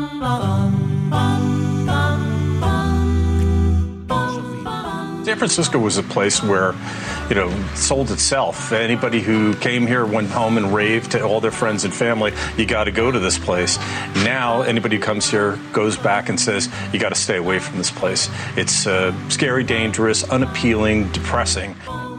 San Francisco was a place where, sold itself. Anybody who came here went home and raved to all their friends and family, you got to go to this place. Now, anybody who comes here goes back and says, you got to stay away from this place. It's scary, dangerous, unappealing, depressing.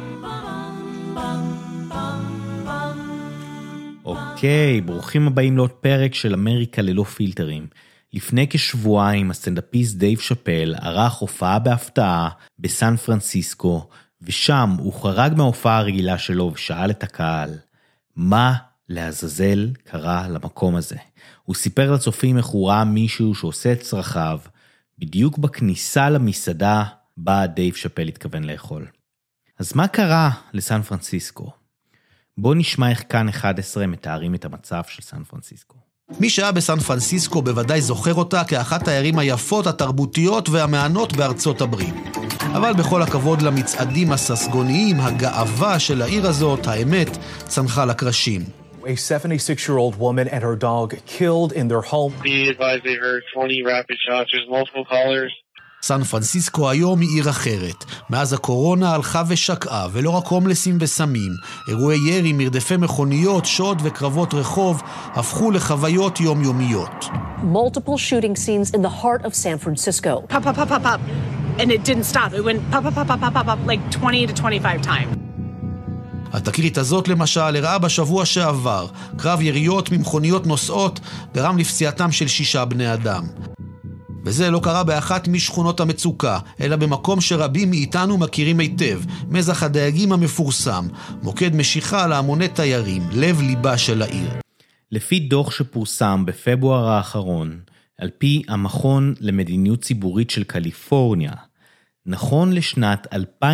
אוקיי, ברוכים הבאים לעוד פרק של אמריקה ללא פילטרים. לפני כשבועיים הסטנדאפיסט דייב שאפל ערך הופעה בהפתעה בסן פרנסיסקו, ושם הוא חרג מההופעה הרגילה שלו ושאל את הקהל, מה לעזאזל קרה למקום הזה? הוא סיפר לצופים איך הוא ראה מישהו שעושה את צרכיו, בדיוק בכניסה למסעדה בה דייב שאפל התכוון לאכול. אז מה קרה לסן פרנסיסקו? בואו נשמע איך כאן 11 מתארים את המצב של סן פרנסיסקו. מי שהיה בסן פרנסיסקו בוודאי זוכר אותה כאחת הערים היפות, התרבותיות והמענות בארצות הברית. אבל בכל הכבוד למצעדים הססגוניים, הגאווה של העיר הזאת, האמת, צנחה לקרשים. A 76-year-old woman and her dog killed in their home. Be advised they heard 20 rapid shots. There's multiple callers. סן פרנסיסקו היום היא עיר אחרת. מאז הקורונה הלכה ושקעה, ולא רק הומלסים וסמים. אירועי ירי, מרדפי מכוניות, שוד וקרבות רחוב הפכו לחוויות יומיומיות. Multiple shooting scenes in the heart of San Francisco. Pop, pop, pop, pop, pop. And it didn't stop. It went pop, pop, pop, pop, pop, pop, like 20 to 25 times. התקרית הזאת למשל הראה בשבוע שעבר. קרב יריות ממכוניות נוסעות גרם לפציעתם של 6 בני אדם. וזה לא קרה באחת משכונות המצוקה, אלא במקום שרבים מאיתנו מכירים היטב, מזח הדייגים המפורסם, מוקד משיכה להמוני תיירים, לב ליבה של העיר. לפי דוח שפורסם בפברואר האחרון, על פי המכון למדיניות ציבורית של קליפורניה, נכון לשנת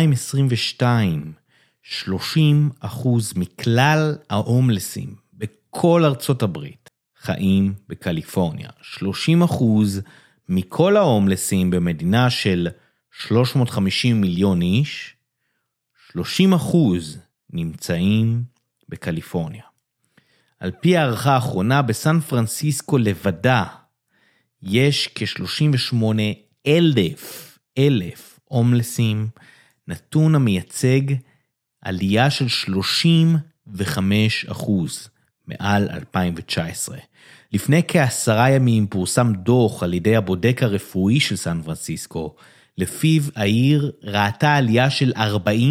2022, 30% מכלל ההומלסים בכל ארצות הברית חיים בקליפורניה. 30% מכל ההומלסים במדינה של 350 מיליון איש, 30% נמצאים בקליפורניה. על פי הערכה האחרונה, בסן פרנסיסקו לבדה, יש כ-38,000 הומלסים, נתון המייצג עלייה של 35% מעל 2019. לפני כ10 ימים פורסם דוח על ידי הבודק הרפואי של סן פרנסיסקו, לפיו העיר ראתה עלייה של 41%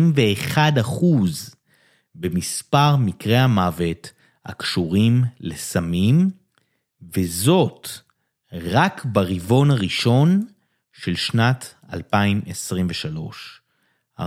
במספר מקרי המוות הקשורים לסמים, וזאת רק ברבעון הראשון של שנת 2023. 41%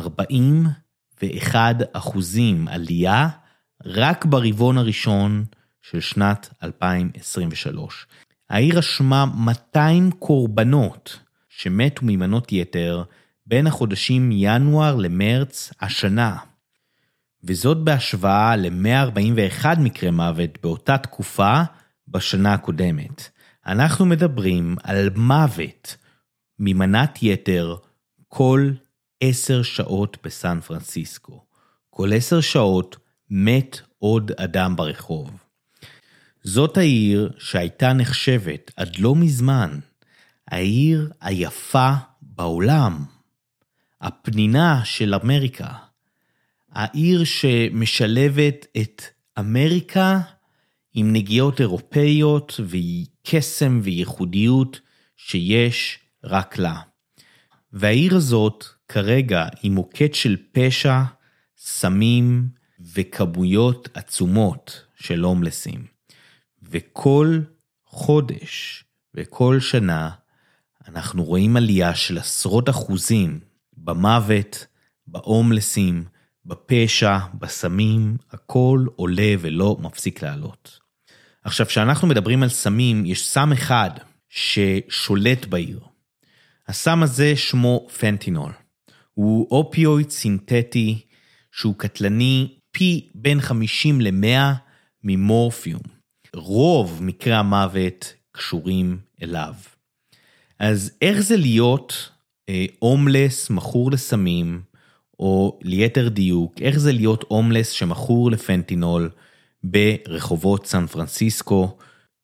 עלייה רק ברבעון הראשון של שנת 2023. העיר רשמה 200 קורבנות שמתו ממנות יתר בין החודשים ינואר למרץ השנה, וזאת בהשוואה ל-141 מקרי מוות באותה תקופה בשנה הקודמת. אנחנו מדברים על מוות ממנת יתר כל 10 שעות בסן פרנסיסקו. כל 10 שעות מת עוד אדם ברחוב. זאת העיר שהייתה נחשבת עד לא מזמן העיר היפה בעולם, הפנינה של אמריקה, העיר שמשלבת את אמריקה עם נגיעות אירופאיות וקסם וייחודיות שיש רק לה. והעיר הזאת כרגע היא מוקד של פשע, סמים וכמויות עצומות של הומלסים. וכל חודש וכל שנה אנחנו רואים עלייה של עשרות אחוזים במוות, בהומלסים, בפשע, בסמים, הכל עולה ולא מפסיק לעלות. עכשיו, כשאנחנו מדברים על סמים, יש סם אחד ששולט בעיר. הסם הזה שמו פנטינול. הוא אופיואיד סינתטי שהוא קטלני פי בין 50 ל-100 ממורפיום. רוב מקרי המוות קשורים אליו. אז איך זה להיות הומלס מכור לסמים, או ליתר דיוק, איך זה להיות הומלס שמכור לפנטינול ברחובות סן פרנסיסקו?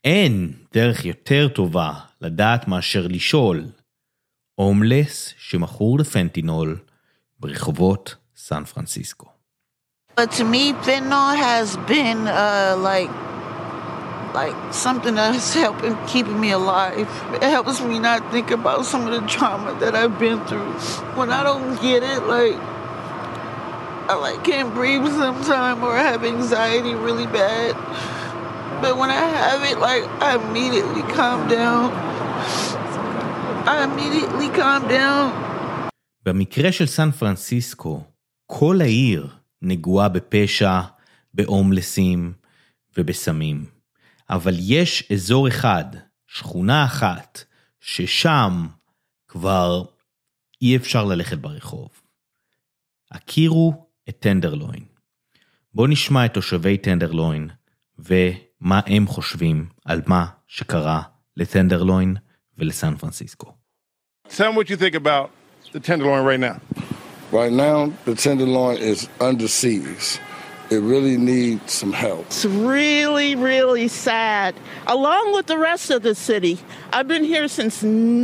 אין דרך יותר טובה לדעת מאשר לשאול הומלס שמכור לפנטינול ברחובות סן פרנסיסקו. But to me, fentanyl has been like something that's helping keeping me alive. It helps me not think about some of the trauma that I've been through. When I don't get it, I can't breathe sometimes or I have anxiety really bad. But when I have it, I immediately calm down. במקרה של סן פרנסיסקו, כל העיר נגועה בפשע, בהומלסים ובסמים. אבל יש אזור אחד, שכונה אחת, ששם כבר אי אפשר ללכת ברחוב. הכירו את טנדרלוין. בואו נשמע את תושבי טנדרלוין, ומה הם חושבים על מה שקרה לטנדרלוין ולסן פרנסיסקו. Tell me what you think about the Tenderloin right now. Right now, the Tenderloin is under siege. It really needs some help. It's really, really sad. Along with the rest of the city. I've been here since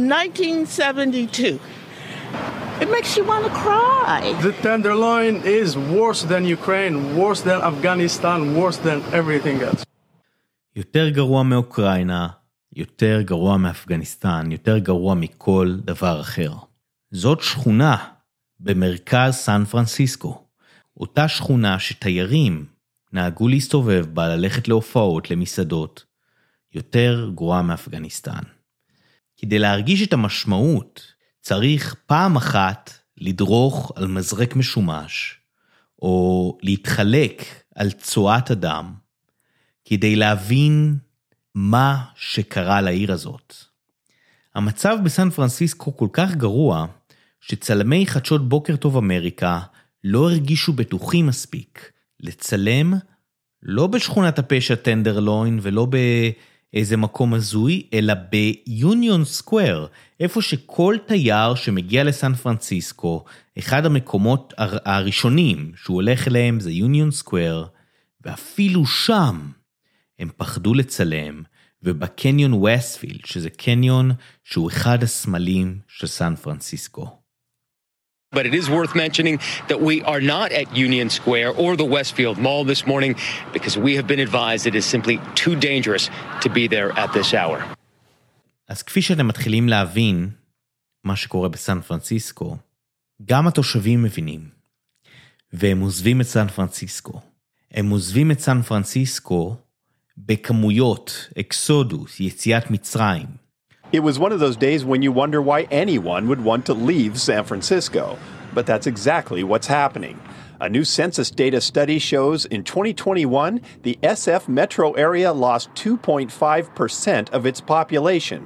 1972. It makes you want to cry. The Tenderloin is worse than Ukraine, worse than Afghanistan, worse than everything else. יותר גרוע מאוקראינה, יותר גרוע מאפגניסטן, יותר גרוע מכל דבר אחר. זאת שכונה במרכז סן פרנסיסקו. אותה שכונה שתיירים נהגו להסתובב בה, ללכת להופעות, למסעדות, יותר גרועה מאפגניסטן. כדי להרגיש את המשמעות, צריך פעם אחת לדרוך על מזרק משומש, או להתחלק על צועת אדם, כדי להבין מה שקרה לעיר הזאת. המצב בסן פרנסיסקו כל כך גרוע, שצלמי חדשות בוקר טוב אמריקה לא הרגישו בטוחים מספיק לצלם, לא בשכונת הפשע טנדרלוין ולא באיזה מקום הזוי, אלא ביוניון סקוואר, איפה שכל תייר שמגיע לסן פרנסיסקו, אחד המקומות הראשונים שהוא הולך אליהם זה יוניון סקוואר, ואפילו שם הם פחדו לצלם, ובקניון וסטפילד, שזה קניון שהוא אחד הסמלים של סן פרנסיסקו. But it is worth mentioning that we are not at Union Square or the Westfield Mall this morning because we have been advised it is simply too dangerous to be there at this hour. אז כפי שאתם מתחילים להבין מה שקורה בסן פרנסיסקו, גם התושבים מבינים, והם עוזבים את סן פרנסיסקו. הם עוזבים את סן פרנסיסקו בכמויות, אקסודוס, יציאת מצרים. It was one of those days when you wonder why anyone would want to leave San Francisco. But that's exactly what's happening. A new census data study shows in 2021, the SF metro area lost 2.5% of its population.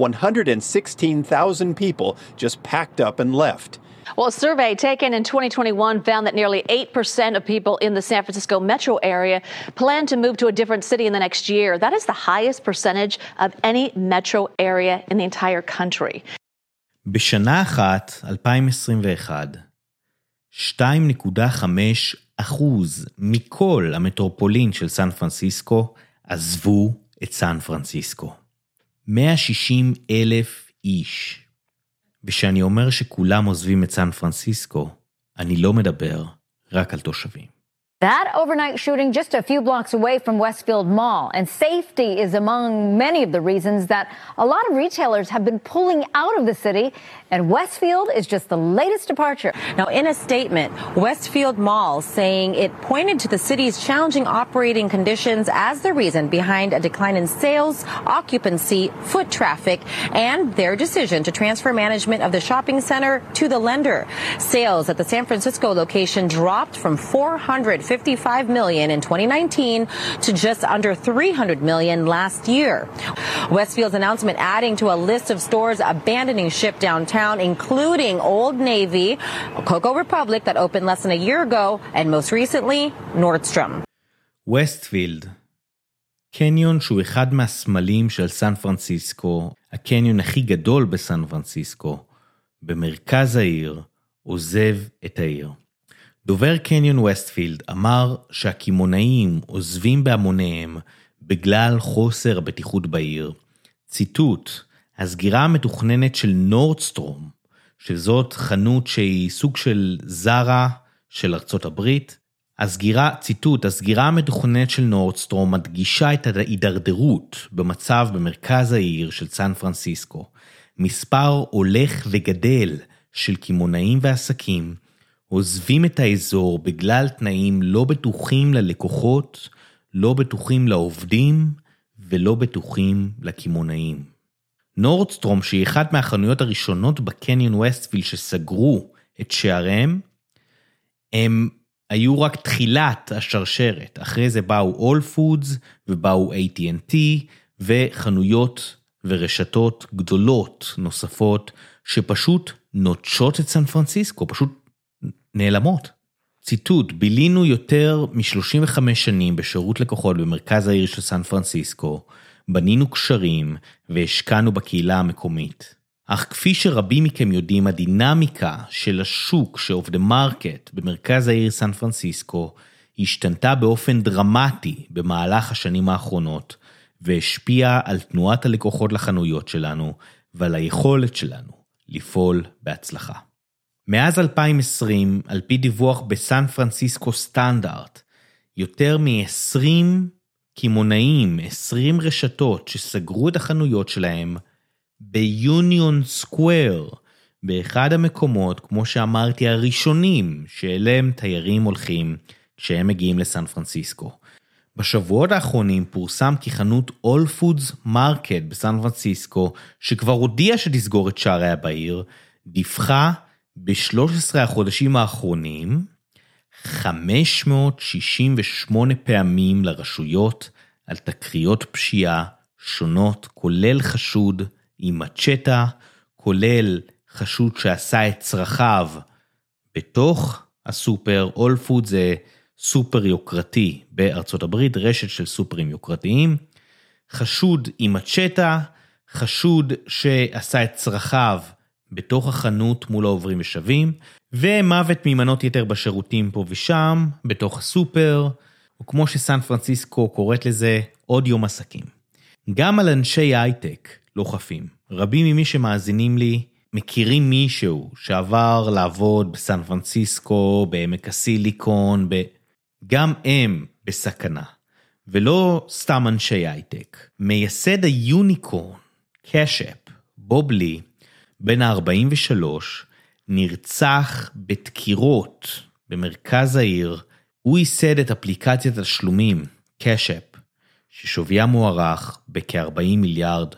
116,000 people just packed up and left. Well, a survey taken in 2021 found that nearly 8% of people in the San Francisco metro area plan to move to a different city in the next year. That is the highest percentage of any metro area in the entire country. בשנה אחת, 2021, 2.5% מכל המטרופולין של סן פרנסיסקו עזבו את סן פרנסיסקו. 160,000 איש. ושאני אומר שכולם עוזבים את סן פרנסיסקו, אני לא מדבר רק על תושבים. That overnight shooting just a few blocks away from Westfield Mall, and safety is among many of the reasons that a lot of retailers have been pulling out of the city, and Westfield is just the latest departure. Now, in a statement, Westfield Mall saying it pointed to the city's challenging operating conditions as the reason behind a decline in sales, occupancy, foot traffic, and their decision to transfer management of the shopping center to the lender. Sales at the San Francisco location dropped from $455 million in 2019 to just under $300 million last year. Westfield's announcement adding to a list of stores abandoning ship downtown, including Old Navy, Coco Republic that opened less than a year ago, and most recently, Nordstrom. Westfield, קניון שהוא אחד מהסמלים של סן פרנסיסקו, הקניון הכי גדול בסן פרנסיסקו, במרכז העיר, עוזב את העיר. דובר קניון ווסטפילד אמר שהקימונאים עוזבים בהמוניהם בגלל חוסר הבטיחות בעיר. ציטוט, הסגירה המתוכננת של נורדסטרום, שזאת חנות שהיא סוג של זרה של ארצות הברית, ציטוט, הסגירה המתוכננת של נורדסטרום מדגישה את ההידרדרות במצב במרכז העיר של סן פרנסיסקו. מספר הולך וגדל של קמעונאים ועסקים עוזבים את האזור בגלל תנאים לא בטוחים ללקוחות, לא בטוחים לעובדים ולא בטוחים לקמעונאים. נורדסטרום, שהיא אחת מהחנויות הראשונות בקניון ווסטפילד שסגרו את שעריהם, הם היו רק תחילת השרשרת. אחרי זה באו All Foods ובאו AT&T וחנויות ורשתות גדולות נוספות שפשוט נוטשות את סן פרנסיסקו, פשוט נעלמות. ציטוט, בילינו יותר מ-35 שנים בשירות לקוחות במרכז העיר של סן פרנסיסקו, בנינו קשרים והשקענו בקהילה המקומית. אך כפי שרבים מכם יודעים, הדינמיקה של השוק of the market במרכז העיר סן פרנסיסקו השתנתה באופן דרמטי במהלך השנים האחרונות, והשפיעה על תנועת הלקוחות לחנויות שלנו ועל היכולת שלנו לפעול בהצלחה. מאז 2020, על פי דיווח בסן פרנסיסקו סטנדרט, יותר מ-20 קמעונאים, 20 רשתות שסגרו את החנויות שלהם ביוניון סקוואר, באחד המקומות, כמו שאמרתי, הראשונים שאליהם תיירים הולכים כשהם מגיעים לסן פרנסיסקו. בשבועות האחרונים פורסם כי חנות All Foods Market בסן פרנסיסקו, שכבר הודיעה שתסגור את שעריה בעיר, דיווחה ב-13 החודשים האחרונים 568 פעמים לרשויות על תקריות פשיעה שונות, כולל חשוד עם מצ'טה, כולל חשוד שעשה את צרכיו בתוך הסופר. All Foods זה סופר יוקרתי בארצות הברית, רשת של סופרים יוקרתיים. חשוד עם מצ'טה, חשוד שעשה את צרכיו בתוך החנות מול העוברים ושבים, ומוות ממנות יתר בשירותים פה ושם, בתוך הסופר, וכמו שסן פרנסיסקו קוראת לזה, עוד יום עסקים. גם על אנשי הייטק לא חפים. רבים ממי שמאזינים לי מכירים מישהו שעבר לעבוד בסן פרנסיסקו, בעמק הסיליקון, גם הם בסכנה. ולא סתם אנשי הייטק. מייסד היוניקורן, קאשאפ, בוב לי, בן ה-43, נרצח בדקירות במרכז העיר. הוא ייסד את אפליקציית השלומים, קאשאפ, ששוויה מוערך בכ-$40 מיליארד.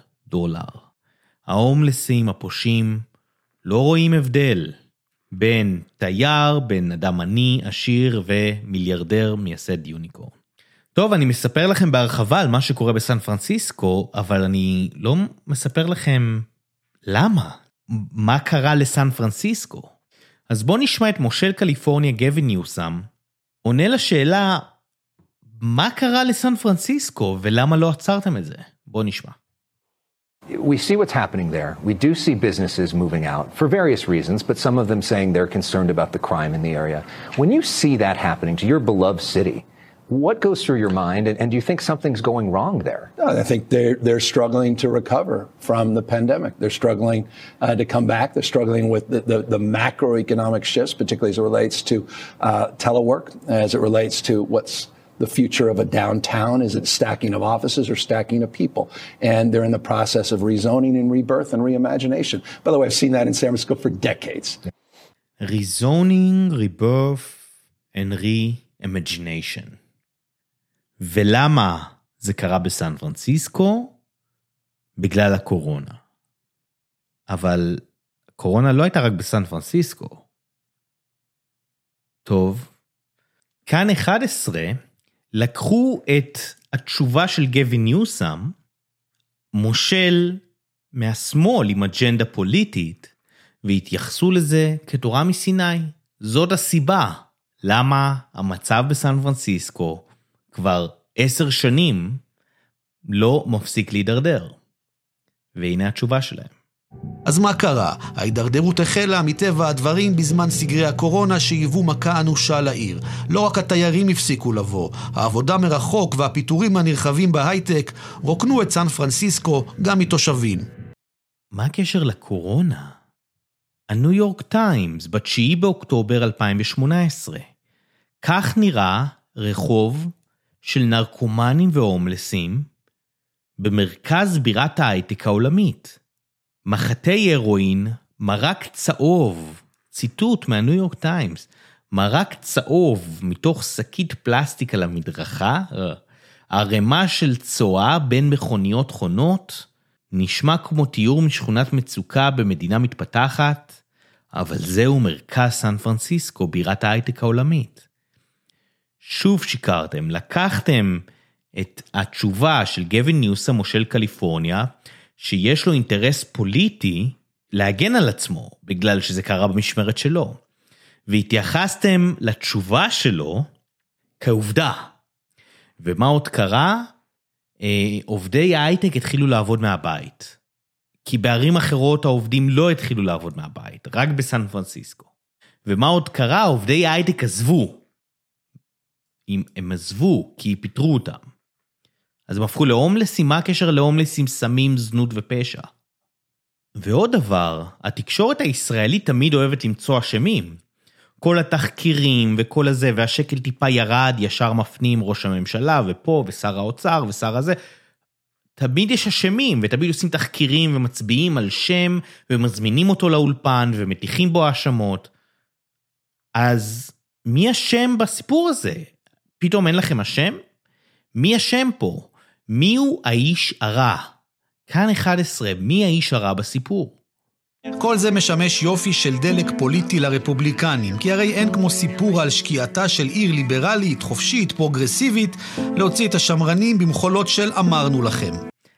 ההומלסים הפושעים לא רואים הבדל בין תייר, בין אדם עני, עשיר ומיליארדר מייסד יוניקורן. טוב, אני מספר לכם בהרחבה על מה שקורה בסן פרנסיסקו, אבל אני לא מספר לכם למה, מה קרה לסן פרנסיסקו. אז בואו נשמע את מושל קליפורניה גווין ניוסם, עונה לשאלה, מה קרה לסן פרנסיסקו ולמה לא עצרתם את זה? בואו נשמע. We see what's happening there. We do see businesses moving out for various reasons, but some of them saying they're concerned about the crime in the area. When you see that happening to your beloved city, what goes through your mind, and do you think something's going wrong there? I think they're struggling to recover from the pandemic. They're struggling to come back. They're struggling with the macroeconomic shifts, particularly as it relates to telework, as it relates to what's the future of a downtown. Is it stacking of offices or stacking of people? And they're in the process of rezoning and rebirth and reimagination. By the way, I've seen that in San Francisco for decades. Rezoning, rebirth and reimagination. ולמה זה קרה בסן פרנסיסקו? בגלל הקורונה. אבל הקורונה לא הייתה רק בסן פרנסיסקו. טוב. כאן 11 לקחו את התשובה של גווין ניוסם, מושל מהשמאל עם אג'נדה פוליטית, והתייחסו לזה כתורה מסיני. זאת הסיבה למה המצב בסן פרנסיסקו כבר 10 שנים לא מפסיק להידרדר. והנה התשובה שלהם. אז מה קרה? ההידרדרות החלה מטבע הדברים בזמן סגרי הקורונה שהיוו מכה אנושה לעיר. לא רק התיירים הפסיקו לבוא, העבודה מרחוק והפיטורים הנרחבים בהייטק רוקנו את סן פרנסיסקו גם מתושבים. מה הקשר לקורונה? הניו יורק טיימס, ב9 באוקטובר 2018. כך נראה רחוב של נרקומנים והומלסים במרכז בירת ההייטק העולמית. מחטי הרואין, מרק צהוב, ציטוט מהניו יורק טיימס, מרק צהוב מתוך שקית פלסטיק על המדרכה, הרמה של צואה בין מכוניות חונות, נשמע כמו תיאור משכונת מצוקה במדינה מתפתחת, אבל זהו מרכז סן פרנסיסקו, בירת ההייטק העולמית. שוב שיקרתם, לקחתם את התשובה של גווין ניוסם, מושל קליפורניה, שיש לו אינטרס פוליטי להגן על עצמו, בגלל שזה קרה במשמרת שלו. והתייחסתם לתשובה שלו כעובדה. ומה עוד קרה? עובדי ההייטק התחילו לעבוד מהבית. כי בערים אחרות העובדים לא התחילו לעבוד מהבית, רק בסן פרנסיסקו. ומה עוד קרה? עובדי ההייטק עזבו. הם עזבו כי פיטרו אותם. אז הם הפכו להומלסים. מה הקשר להומלסים, סמים, זנות ופשע? ועוד דבר, התקשורת הישראלית תמיד אוהבת למצוא אשמים. כל התחקירים וכל הזה, והשקל טיפה ירד, ישר מפנים ראש הממשלה, ופה, ושר האוצר, ושר הזה. תמיד יש אשמים, ותמיד עושים תחקירים, ומצביעים על שם, ומזמינים אותו לאולפן, ומתיחים בו האשמות. אז מי אשם בסיפור הזה? פתאום אין לכם אשם? מי אשם פה? מי הוא האיש הרע? כאן 11, מי האיש הרע בסיפור? כל זה משמש יופי של דלק פוליטי לרפובליקנים, כי הרי אין כמו סיפור על שקיעתה של עיר ליברלית, חופשית, פרוגרסיבית, להוציא את השמרנים במחולות של אמרנו לכם.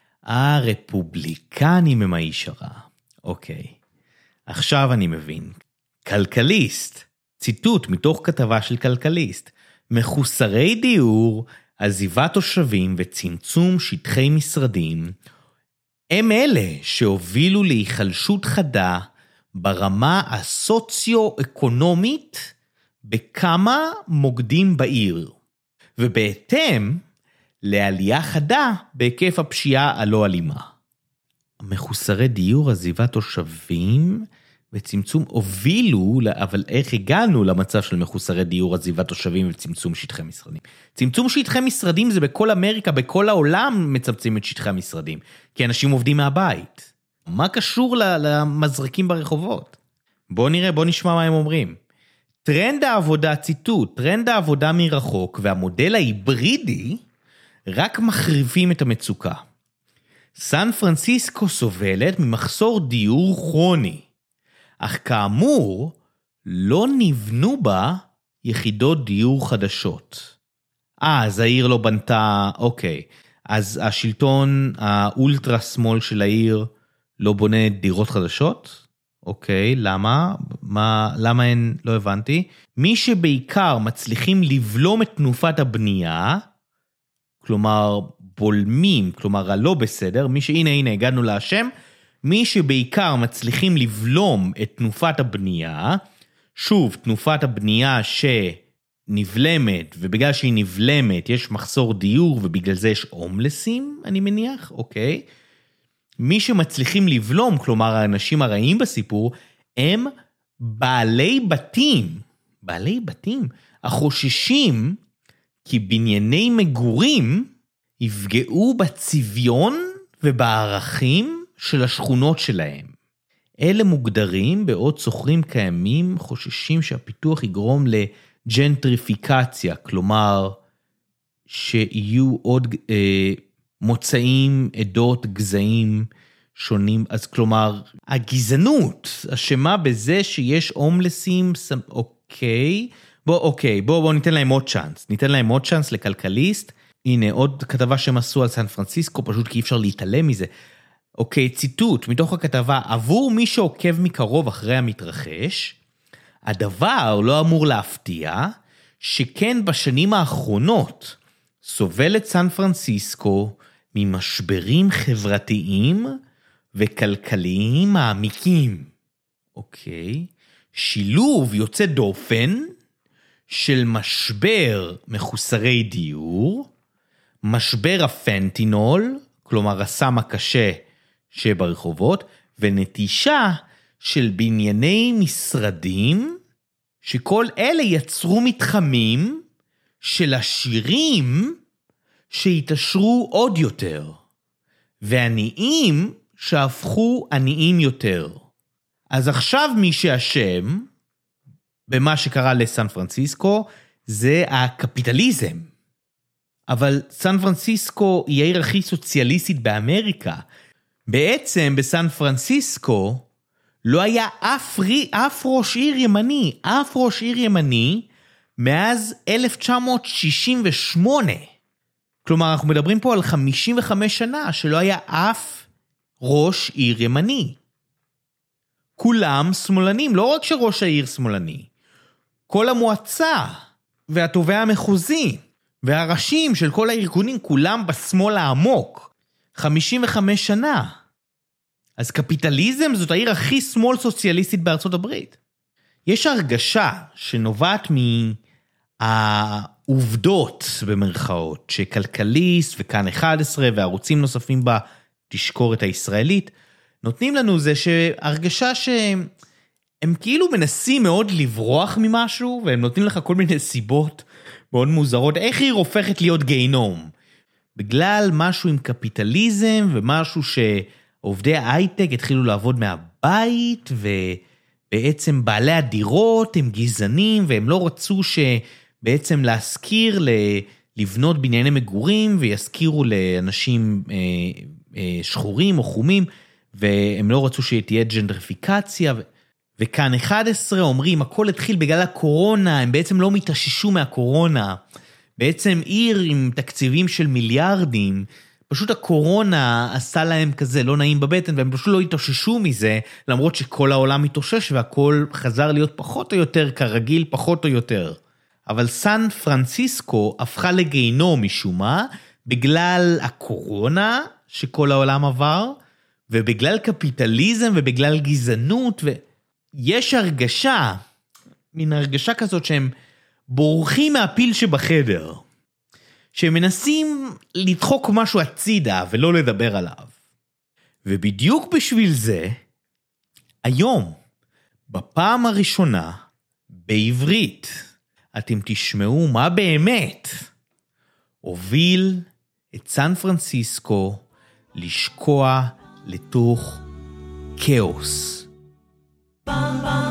הרפובליקנים הם האיש הרע. אוקיי. עכשיו אני מבין. כלכליסט, ציטוט מתוך כתבה של כלכליסט, מחוסרי דיור, עזיבת תושבים וצמצום שטחי משרדים, הם אלה שהובילו להיחלשות חדה ברמה הסוציו-אקונומית בכמה מוקדים בעיר, ובהתאם לעלייה חדה בהיקף הפשיעה הלא אלימה. מחוסרי דיור, עזיבת תושבים וצמצום הובילו, אבל איך הגענו למצב של מחוסרי דיור, עזיבת תושבים וצמצום שטחי משרדים? צמצום שטחי משרדים זה בכל אמריקה, בכל העולם מצמצים את שטחי המשרדים, כי אנשים עובדים מהבית. מה קשור למזרקים ברחובות? בוא נראה, בוא נשמע מה הם אומרים. טרנד העבודה, ציטוט, טרנד העבודה מרחוק והמודל ההיברידי רק מחריפים את המצוקה. סן פרנסיסקו סובלת ממחסור דיור כרוני. אך כאמור, לא נבנו בה יחידות דיור חדשות. אז העיר לא בנתה, אוקיי. אז השלטון האולטרה שמאל של העיר לא בונה דירות חדשות? אוקיי, למה? למה אין? לא הבנתי. מי שבעיקר מצליחים לבלום את תנופת הבנייה, כלומר בולמים, כלומר הלא בסדר, מי שהנה הגענו לאשם, מי שבעיקר מצליחים לבלום את תנופת הבנייה, שוב, תנופת הבנייה שנבלמת, ובגלל שהיא נבלמת יש מחסור דיור, ובגלל זה יש הומלסים, אני מניח, אוקיי. מי שמצליחים לבלום, כלומר האנשים הרעים בסיפור, הם בעלי בתים, החוששים כי בנייני מגורים יפגעו בצביון ובערכים של השכונות שלהם. אלה מוגדרים בעוד סוחרים קיימים חוששים שהפיתוח יגרום לג'נטריפיקציה, כלומר שיהיו עוד מוצאים, עדות, גזעים שונים, אז כלומר הגזענות אשמה בזה שיש הומלסים, אוקיי, בוא ניתן להם עוד צ'אנס, לכלכליסט. הנה עוד כתבה שהם עשו על סן פרנסיסקו, פשוט כי אי אפשר להתעלם מזה. אוקיי, ציטוט מתוך הכתבה, עבור מי שעוקב מקרוב אחרי המתרחש, הדבר לא אמור להפתיע, שכן בשנים האחרונות סובלת סן פרנסיסקו ממשברים חברתיים וכלכליים מעמיקים. אוקיי. שילוב יוצא דופן של משבר מחוסרי דיור, משבר הפנטינול, כלומר הסם הקשה שברחובות, ונטישה של בנייני משרדים, שכל אלה יצרו מתחמים של עשירים שהתעשרו עוד יותר, ועניים שהפכו עניים יותר. אז עכשיו מי שאשם במה שקרה לסן פרנסיסקו זה הקפיטליזם. אבל סן פרנסיסקו היא העיר הכי סוציאליסטית באמריקה. בעצם בסן פרנסיסקו לא היה אף ראש עיר ימני, אף ראש עיר ימני מאז 1968. כלומר, אנחנו מדברים פה על 55 שנה שלא היה אף ראש עיר ימני. כולם שמאלנים, לא רק שראש העיר שמאלני. כל המועצה והתובע המחוזי והראשים של כל הארגונים כולם בשמאל העמוק. 55 שנה. אז קפיטליזם זאת העיר הכי שמאל סוציאליסטית בארצות הברית. יש הרגשה שנובעת מהעובדות במרכאות, שכלכליסט וכאן 11 וערוצים נוספים בתשקורת הישראלית, נותנים לנו זה שהרגשה שהם כאילו מנסים מאוד לברוח ממשהו, והם נותנים לך כל מיני סיבות מאוד מוזרות, איך היא הופכת להיות גיהנום? בגלל משהו עם קפיטליזם, ומשהו שעובדי ההייטק התחילו לעבוד מהבית, ובעצם בעלי הדירות הם גזענים, והם לא רצו שבעצם להזכיר לבנות בנייני מגורים, ויזכירו לאנשים שחורים או חומים, והם לא רצו שתהיה ג'נדריפיקציה, וכאן 11 אומרים, הכל התחיל בגלל הקורונה, הם בעצם לא מתאוששו מהקורונה, בעצם עיר עם תקציבים של מיליארדים, פשוט הקורונה עשה להם כזה לא נעים בבטן, והם פשוט לא התאוששו מזה, למרות שכל העולם מתאושש, והכל חזר להיות פחות או יותר כרגיל, פחות או יותר. אבל סן פרנסיסקו הפכה לגיהנום משום מה, בגלל הקורונה שכל העולם עבר, ובגלל קפיטליזם ובגלל גזענות, ויש הרגשה, מין הרגשה כזאת שהם בורחים מהפיל שבחדר, שהם מנסים לדחוק משהו הצידה ולא לדבר עליו. ובדיוק בשביל זה, היום, בפעם הראשונה, בעברית, אתם תשמעו מה באמת הוביל את סן פרנסיסקו לשקוע לתוך כאוס.